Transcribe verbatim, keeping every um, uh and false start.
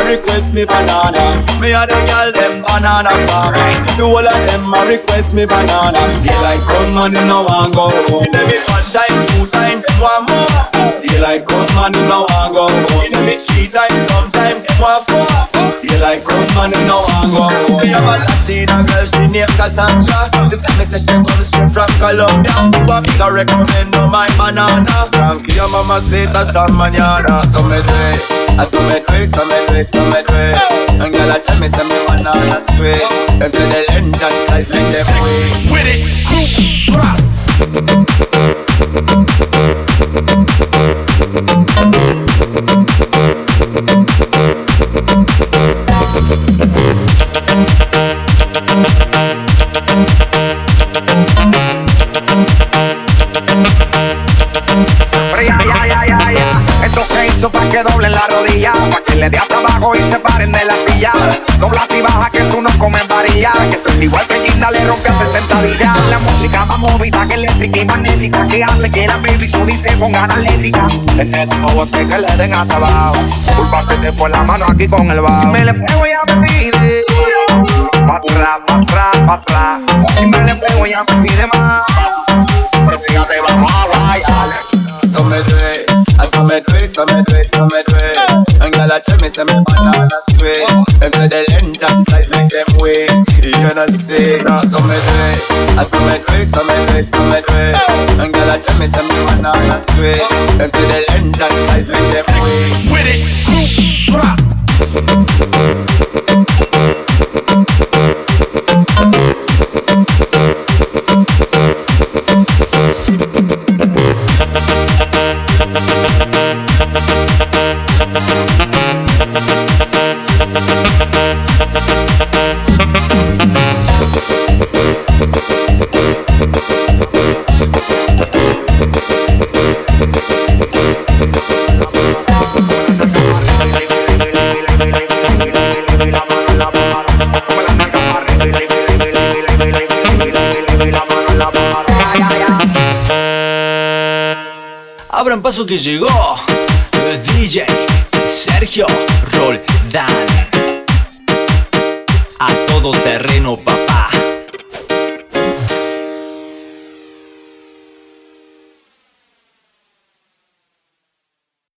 request me banana. Me and the girl them banana farm. The whole of them a request me banana. Daylight come and you no want go home. You give me one time, two time, them want more. Daylight come and you no want go home. You give me three times, sometime them want four. Daylight come and you no want go home. Me have a Latina girl, she named Cassandra. She tell me say she comes straight from Colombia. So I make her recommend no my banana. Frankie, your mama say that's the mañana. So me do it, I so me do it, so me do it, so me do it. And girl I tell me say me banana sweet. Them say the length and size make them wait. With it, group drop. Pa' que doblen la rodilla, pa' que le dé hasta abajo y se paren de la silla. Dobla y baja que tú no comes varilla, que tú eres igual que Ginda le rompe a sesenta días. La música más movida que eléctrica y magnética, que hace que la baby su dice con analética. En esto no hace que le den hasta abajo, culpa se te fue la mano aquí con el bajo. Si me le pego ya me pide pa' atrás, pa' atrás, pa' atrás. Si me le pego ya me pide más, pero fíjate vamos a guayar. So me do it, I so me do it, so me do it, so me do it. And girl I tell me say me banana sweet. Them say the length and size make them wait. You know see, now so me do it, I so me do it, so me do it, so me do it. And girl I tell me say me banana sweet. Them say the length and size make them wait. With it, group drop. Abran paso que llegó el D J Sergio Roldán. A todo terreno pa'